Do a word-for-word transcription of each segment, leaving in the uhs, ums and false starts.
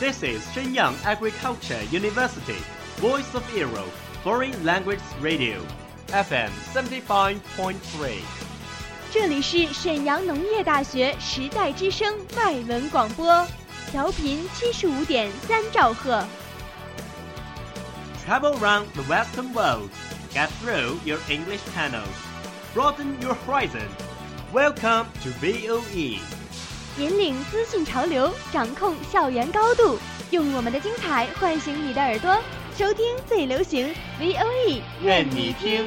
This is Shenyang Agriculture University, Voice of Europe, Foreign Language Radio, F M seventy-five point three. 这里是沈阳农业大学时代之声外文广播，调频七十五点三兆赫。 Travel around the Western world, get through your English channels, broaden your horizon. Welcome to V O E. 引领资讯潮流，掌控校园高度，用我们的精彩唤醒你的耳朵，收听最流行 V O E， 愿你听。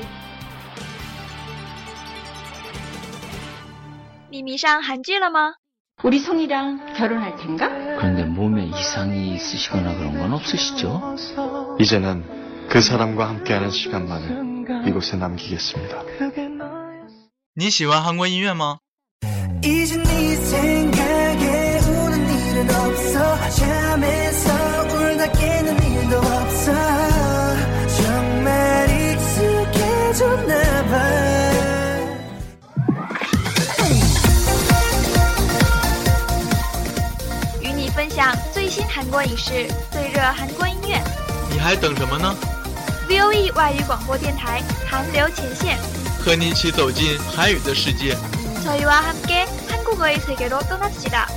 你迷上韩剧了吗？ 우리 성이랑 결혼할 텐가? 그런데 몸에 이상이 있으시거나 그런 건 없으시죠? 이제는 그 사람과 함께하는 시간만을 이곳에 남기겠습니다. 你喜欢韩国音乐吗？ 이제 네 생각에 우는 일은 없어 잠에서 울다 깨는 일도 없어 정말 익숙해졌나 봐. 与你分享最新韩国影视，最热韩国音乐。 你还等什么呢？ V O E 外语广播电台韩流前线， 和你一起走进韩语的世界。 저희와 함께 한국어의 세계로 떠납시다.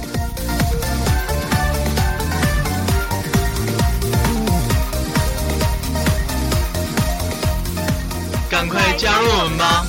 赶快加入我们吧！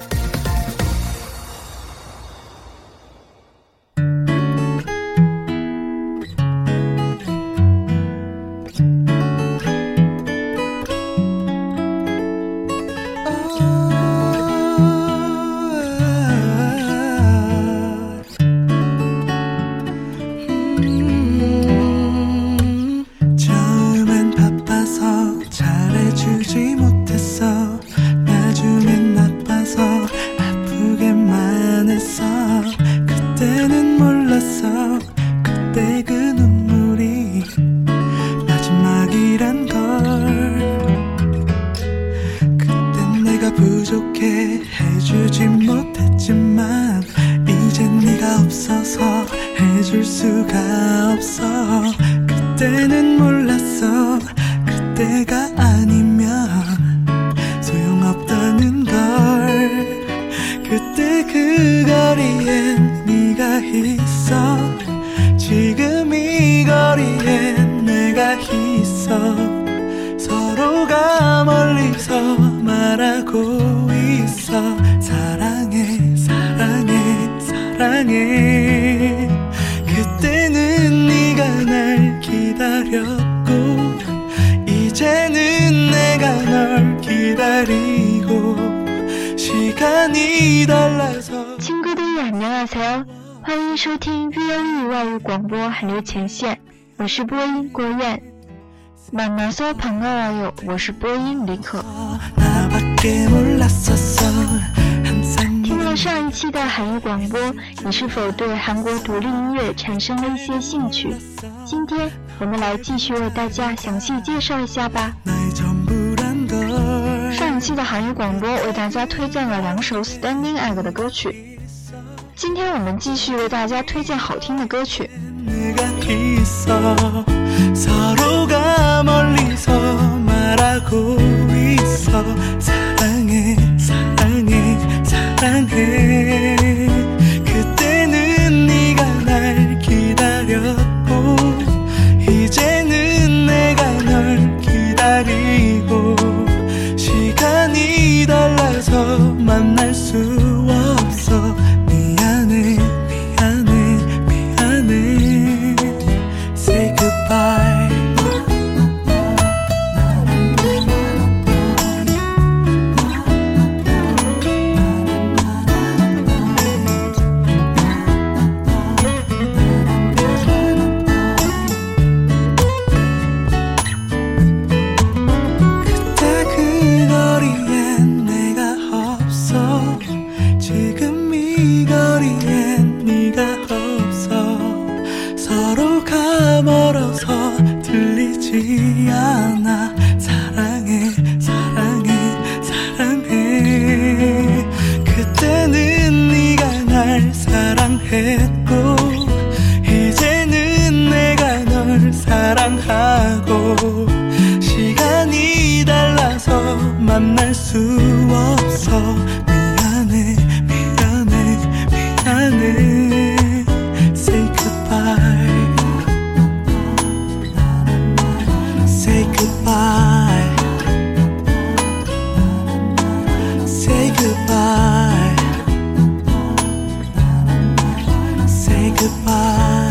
부족해 해주지 못했지만 이젠 네가 없어서 해줄 수가 없어 그때는 몰랐어 그때가 아니면 소용없다는 걸 그때 그 거리엔 네가 있어 지금 이 거리엔 내가 있어 서로가 멀리서 말하고 있어 사랑해 사랑해 사랑해 그때는 네가 날 기다렸고 이제는 내가 널 기다리고 시간이 달라서 친구들 안녕하세요 欢迎收听 V O E 外语广播韩流前线我是播音郭燕 만나서 반가워요. 我是播音李可。听了上一期的韩语广播，你是否对韩国独立音乐产生了一些兴趣？今天我们来继续为大家详细介绍一下吧。上一期的韩语广播为大家推荐了两首 Standing Egg 的歌曲，今天我们继续为大家推荐好听的歌曲。 서로가 멀리서 말하고 있어 사랑해 사랑해 사랑해 그때는 네가 날 기다렸고 이제는 내가 널 기다리고 시간이 달라서 만날 수 없어 미안해 미안해 미안해 Say goodbye 않아 사랑해 사랑해 사랑해 그때는 네가 날 사랑했고 이제는 내가 널 사랑해 하고 시간이 달라서 만날 수 없어 미안해 미안해 미안해 Say goodbye Say goodbye Say goodbye Say goodbye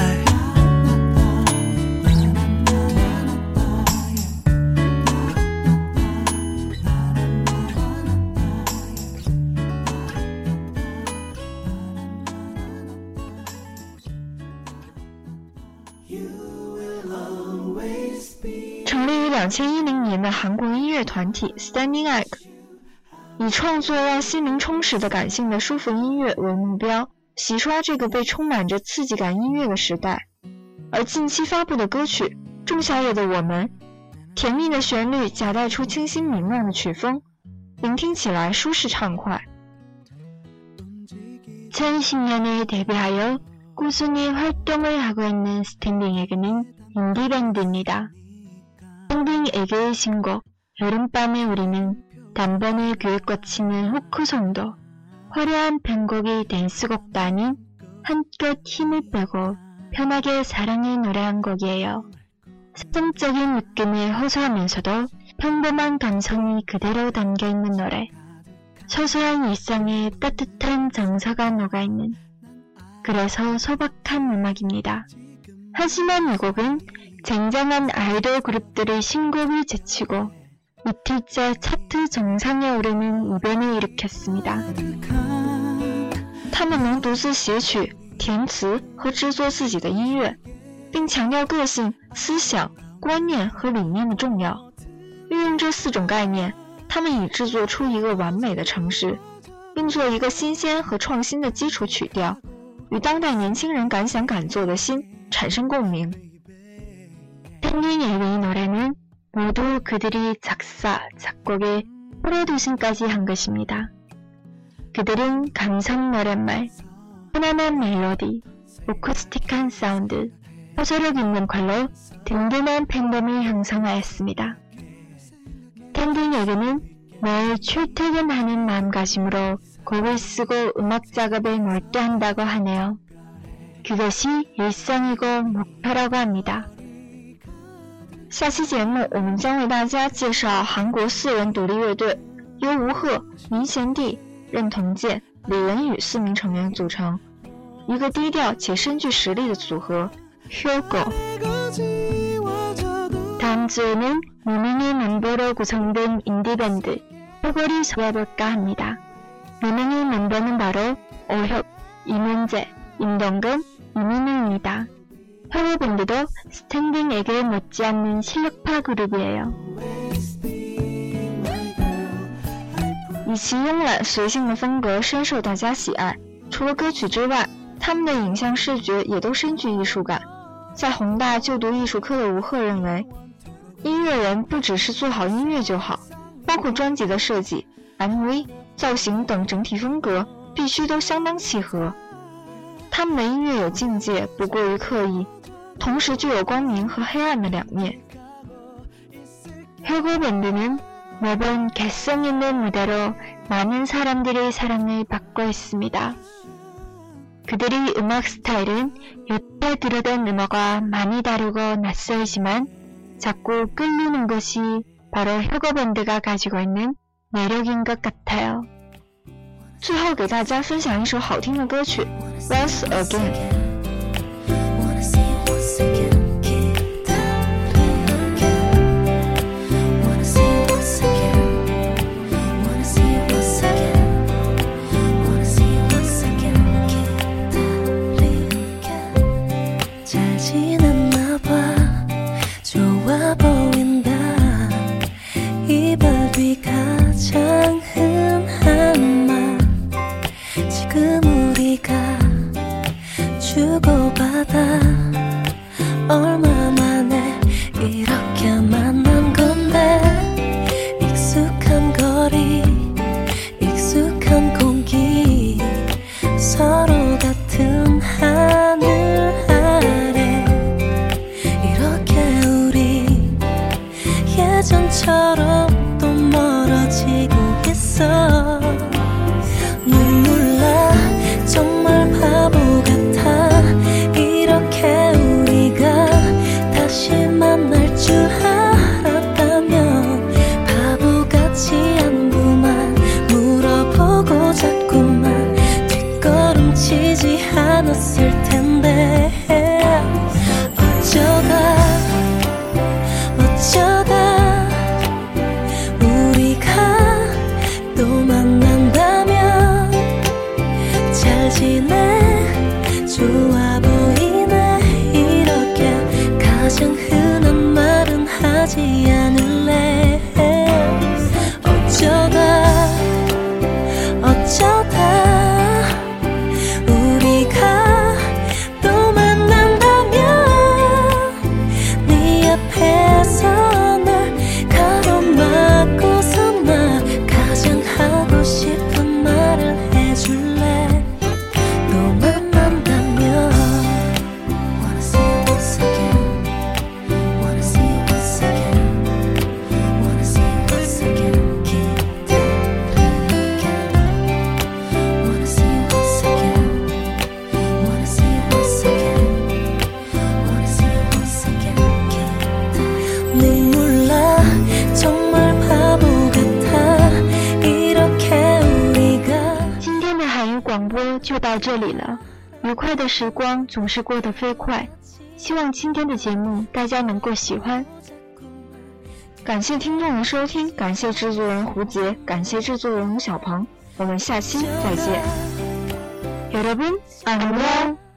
成立于两千一零年的韩国音乐团体 Standing Egg， 以创作让心灵充实的感性的舒服音乐为目标，洗刷这个被充满着刺激感音乐的时代。而近期发布的歌曲《仲夏夜的我们》，甜蜜的旋律夹带出清新明亮的曲风，聆听起来舒适畅快。이천십 년에 데뷔하여 꾸준히 활동을 하고 있는 스탠딩 에그는 인디 밴드입니다. 스탠딩 에그의 신곡 여름밤의 우리는 단번에 귀에 꽂히는 후크송도 화려한 편곡이 댄스곡도 아닌 한껏 힘을 빼고 편하게 사랑을 노래한 곡이에요. 사정적인 느낌을 호소하면서도 평범한 감성이 그대로 담겨있는 노래. 소소한 일상에 따뜻한 정서가 녹아있는, 그래서 소박한 음악입니다. 하지만 이 곡은 쟁쟁한 아이돌 그룹들의 신곡을 제치고 이틀째 차트 정상에 오르는 이변을 일으켰습니다. 他们能独自写曲、填词和制作自己的音乐，并强调个性、思想、观念和理念的重要。运用这四种概念，他们已制作出一个完美的城市，并做一个新鲜和创新的基础曲调，与当代年轻人敢想敢做的心产生共鸣。스탠딩 에그의 노래는 모두 그들이 작사, 작곡에 프로듀싱까지 한 것입니다. 그들은 감성 노랫말, 편안한 멜로디, 오쿠스틱한 사운드, 호소력 있는 컬러, 든든한 팬덤을 형성하였습니다. 스탠딩 에그는 매일 출퇴근하는 마음가짐으로 곡을 쓰고 음악 작업에 몰두한다고 하네요. 그것이 일상이고 목표라고 합니다. 下期节目我们将为大家介绍韩国四人独立乐队，由吴赫、民贤弟、任同健、李文宇四名成员组成，一个低调且深具实力的组合 Hyogo。 다음 주에는 무명의 멤버로 구성된 인디밴드 Hyogo를 소개해볼까 합니다. 무명의 멤버는 바로 오혁, 이문재, 임동근, 이민우입니다. Hyogo 밴드도 스탠딩 에그에 못지않는 실력파 그룹이에요. 以其慵懒随性的风格深受大家喜爱，除了歌曲之外，他们的影像视觉也都深具艺术感。在宏大就读艺术科的吴赫认为，音乐人不只是做好音乐就好，包括专辑的设计、M V、造型等整体风格必须都相当契合。他们的音乐有境界，不过于刻意，同时具有光明和黑暗的两面。Hyogo 밴드는 매번 개성 있는 무대로 많은 사람들의 사랑을 받고 있습니다. 그들의 음악 스타일은 여태 들어던 음악과 많이 다르고 낯설지만 자꾸 끌리는 것이 바로 Hyogo 밴드가 가지고 있는 매력인 것 같아요. 最后给大家分享一首好听的歌曲 Once Again。 하늘 아래 이렇게 우리 这里了，愉快的时光总是过得飞快，希望今天的节目大家能够喜欢。感谢听众的收听，感谢制作人胡杰，感谢制作人吴小鹏，我们下期再见。여러분 안녕。